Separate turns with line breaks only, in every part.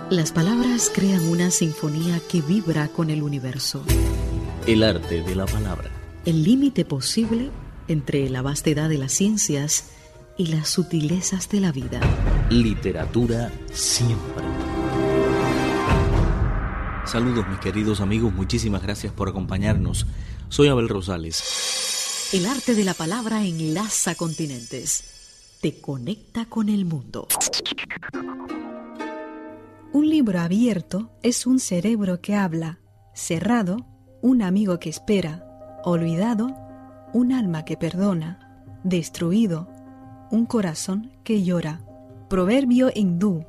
Las palabras crean una sinfonía que vibra con el universo.
El arte de la palabra.
El límite posible entre la vastedad de las ciencias y las sutilezas de la vida.
Literatura siempre. Saludos mis queridos amigos, muchísimas gracias por acompañarnos. Soy Abel Rosales.
El arte de la palabra enlaza continentes, te conecta con el mundo.
Un libro abierto es un cerebro que habla, cerrado, un amigo que espera, olvidado, un alma que perdona, destruido, un corazón que llora. Proverbio hindú.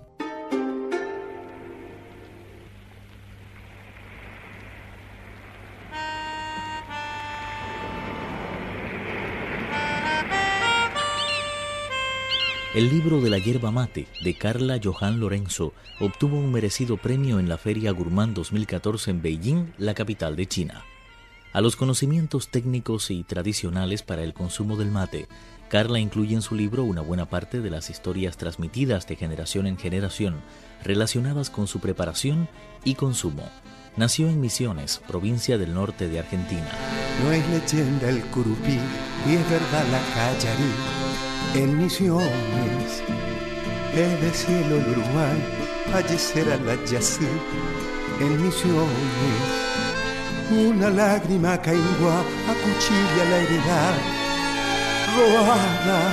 El libro de la yerba mate, de Carla Johan Lorenzo, obtuvo un merecido premio en la Feria Gourmand 2014 en Beijing, la capital de China. A los conocimientos técnicos y tradicionales para el consumo del mate, Carla incluye en su libro una buena parte de las historias transmitidas de generación en generación, relacionadas con su preparación y consumo. Nació en Misiones, provincia del norte de Argentina.
No es leyenda el curupí, y es verdad la callarí. En Misiones, es de cielo el Uruguay, fallecerá la Yací. En Misiones, una lágrima caigua acuchilla la heredad. Roada,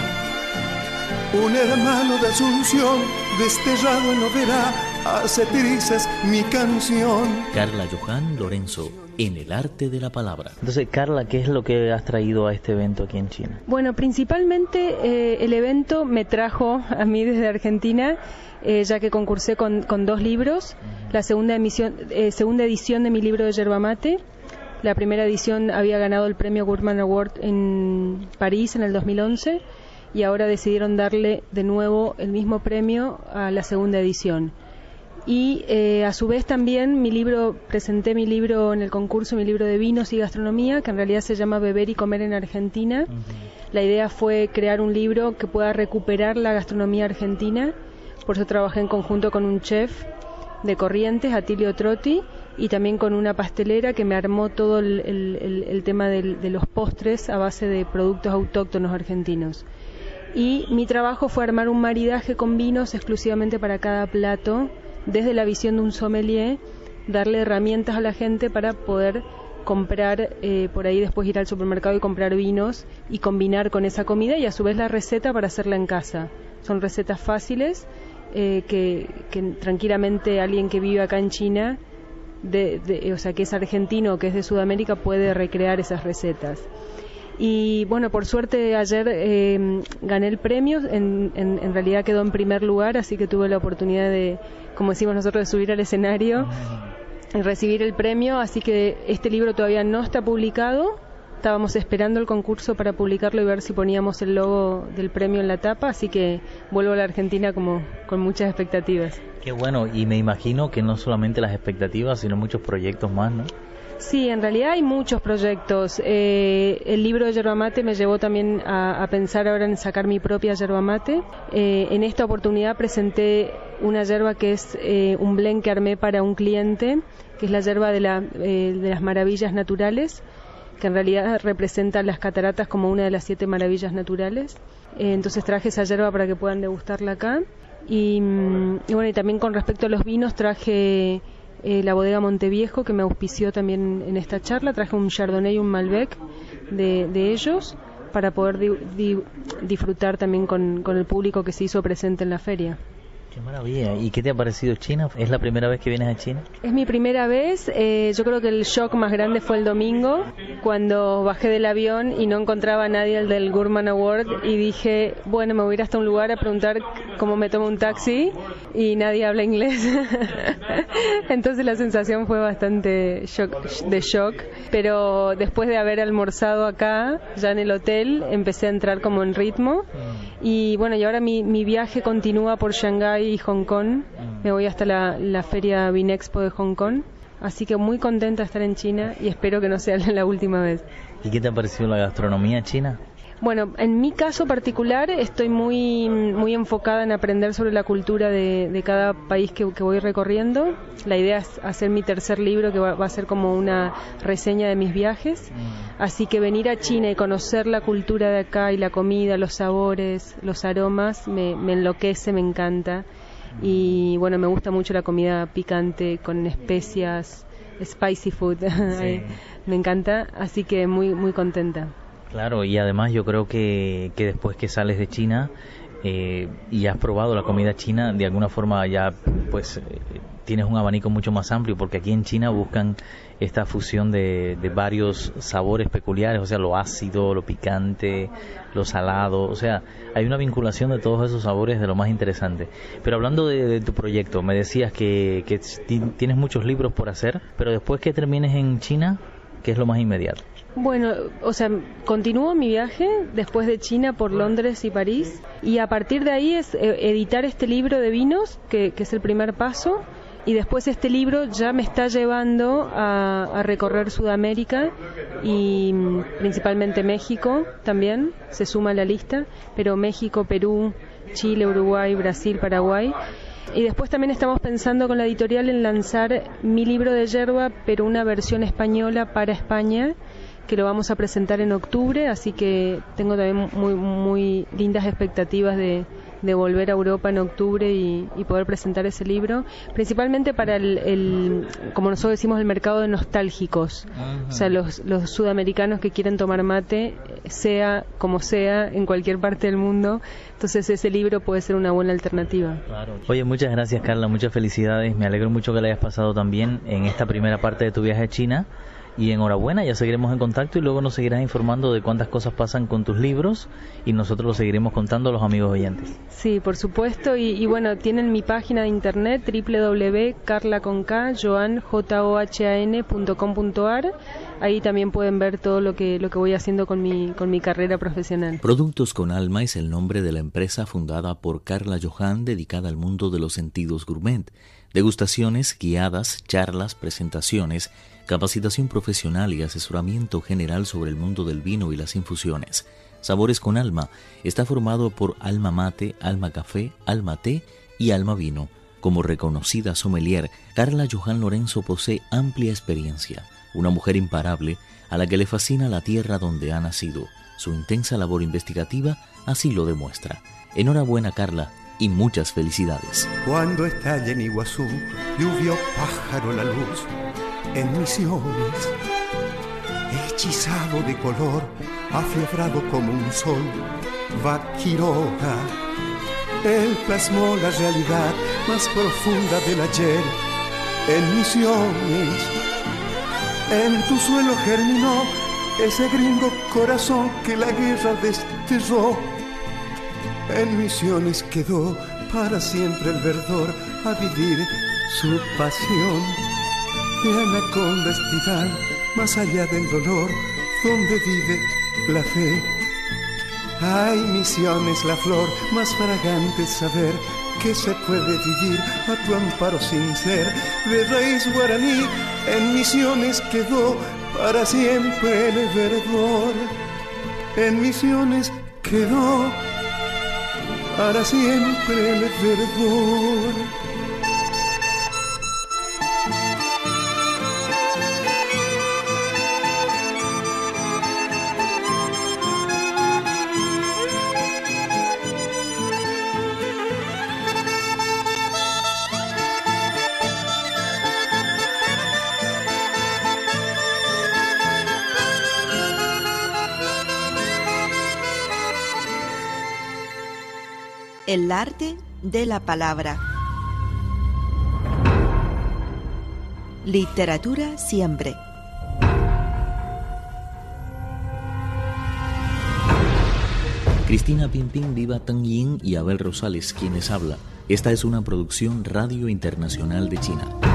un hermano de Asunción, desterrado en Oberá, hace trizas mi canción.
Carla Johan Lorenzo, en el arte de la palabra.
Entonces, Carla, ¿qué es lo que has traído a este evento aquí en China?
Bueno, principalmente el evento me trajo a mí desde Argentina, ya que concursé con 2 libros. La segunda edición de mi libro de yerba mate. La primera edición había ganado el premio Gourmand Award en París en el 2011 y ahora decidieron darle de nuevo el mismo premio a la segunda edición. Y a su vez también presenté mi libro en el concurso, mi libro de vinos y gastronomía, que en realidad se llama Beber y Comer en Argentina. La idea fue crear un libro que pueda recuperar la gastronomía argentina, por eso trabajé en conjunto con un chef de Corrientes, Atilio Trotti, y también con una pastelera que me armó todo el tema de los postres a base de productos autóctonos argentinos. Y mi trabajo fue armar un maridaje con vinos exclusivamente para cada plato, desde la visión de un sommelier, darle herramientas a la gente para poder comprar, por ahí después ir al supermercado y comprar vinos y combinar con esa comida y a su vez la receta para hacerla en casa. Son recetas fáciles que tranquilamente alguien que vive acá en China, o sea que es argentino o que es de Sudamérica, puede recrear esas recetas. Y bueno, por suerte ayer gané el premio, en realidad quedó en primer lugar, así que tuve la oportunidad de, como decimos nosotros, de subir al escenario y recibir el premio, así que este libro todavía no está publicado, estábamos esperando el concurso para publicarlo y ver si poníamos el logo del premio en la tapa, así que vuelvo a la Argentina como con muchas expectativas.
Qué bueno, y me imagino que no solamente las expectativas, sino muchos proyectos más, ¿no?
Sí, en realidad hay muchos proyectos. El libro de yerba mate me llevó también a pensar ahora en sacar mi propia yerba mate. En esta oportunidad presenté una yerba que es un blend que armé para un cliente, que es la yerba de las maravillas naturales, que en realidad representa las cataratas como una de las 7 maravillas naturales. Entonces traje esa yerba para que puedan degustarla acá. Y bueno, y también con respecto a los vinos traje la bodega Monteviejo, que me auspició también en esta charla. Traje un Chardonnay y un Malbec de ellos para poder disfrutar también con el público que se hizo presente en la feria.
Qué maravilla. ¿Y qué te ha parecido China? ¿Es la primera vez que vienes a China?
Es mi primera vez. Yo creo que el shock más grande fue el domingo, cuando bajé del avión y no encontraba a nadie del Gourmand Award y dije, bueno, me voy a ir hasta un lugar a preguntar cómo me tomo un taxi y nadie habla inglés. Entonces la sensación fue bastante de shock, pero después de haber almorzado acá, ya en el hotel, empecé a entrar como en ritmo. Y bueno, y ahora mi viaje continúa por Shanghái y Hong Kong. Me voy hasta la feria Vinexpo de Hong Kong. Así que muy contenta de estar en China y espero que no sea la última vez.
¿Y qué te ha parecido la gastronomía china?
Bueno, en mi caso particular estoy muy enfocada en aprender sobre la cultura de cada país que voy recorriendo. La idea es hacer mi tercer libro, que va a ser como una reseña de mis viajes. Así que venir a China y conocer la cultura de acá y la comida, los sabores, los aromas, me enloquece, me encanta. Y bueno, me gusta mucho la comida picante con especias, spicy food. Sí. Me encanta, así que muy contenta.
Claro, y además yo creo que después que sales de China y has probado la comida china, de alguna forma ya pues tienes un abanico mucho más amplio, porque aquí en China buscan esta fusión de varios sabores peculiares, o sea, lo ácido, lo picante, lo salado, o sea, hay una vinculación de todos esos sabores de lo más interesante. Pero hablando de tu proyecto, me decías que tienes muchos libros por hacer, pero después que termines en China, ¿qué es lo más inmediato?
Bueno, o sea, continúo mi viaje después de China por Londres y París, y a partir de ahí es editar este libro de vinos, que es el primer paso, y después este libro ya me está llevando a recorrer Sudamérica y principalmente México también, se suma a la lista, pero México, Perú, Chile, Uruguay, Brasil, Paraguay. Y después también estamos pensando con la editorial en lanzar mi libro de yerba, pero una versión española para España, que lo vamos a presentar en octubre, así que tengo también muy lindas expectativas de volver a Europa en octubre y poder presentar ese libro, principalmente para el como nosotros decimos, el mercado de nostálgicos. O sea, los sudamericanos que quieren tomar mate, sea como sea, en cualquier parte del mundo. Entonces ese libro puede ser una buena alternativa.
Claro. Oye, muchas gracias, Carla, muchas felicidades, me alegro mucho que la hayas pasado también en esta primera parte de tu viaje a China. Y enhorabuena, ya seguiremos en contacto y luego nos seguirás informando de cuántas cosas pasan con tus libros y nosotros lo seguiremos contando a los amigos oyentes.
Sí, por supuesto, y bueno, tienen mi página de internet www.carlajohan.com.ar. Ahí también pueden ver todo lo que voy haciendo con mi carrera profesional.
Productos con Alma es el nombre de la empresa fundada por Carla Johan, dedicada al mundo de los sentidos gourmet. Degustaciones guiadas, charlas, presentaciones, capacitación profesional y asesoramiento general sobre el mundo del vino y las infusiones. Sabores con Alma está formado por Alma Mate, Alma Café, Alma Té y Alma Vino. Como reconocida sommelier, Carla Johan Lorenzo posee amplia experiencia, una mujer imparable a la que le fascina la tierra donde ha nacido. Su intensa labor investigativa así lo demuestra. Enhorabuena, Carla, y muchas felicidades.
Cuando estalle en Iguazú, lluvia o pájaro la luz, en Misiones, hechizado de color, afiebrado como un sol, va Quiroga. Él plasmó la realidad más profunda del ayer en Misiones. En tu suelo germinó ese gringo corazón que la guerra desterró. En Misiones quedó para siempre el verdor a vivir su pasión. De anaconda estival, más allá del dolor, donde vive la fe. Hay Misiones, la flor más fragante, saber que se puede vivir a tu amparo sin ser de raíz guaraní. En Misiones quedó para siempre el verdor. En Misiones quedó para siempre el verdor.
El arte de la palabra. Literatura siempre.
Cristina Pimpín, Viva Tang Yin y Abel Rosales, quienes habla. Esta es una producción Radio Internacional de China.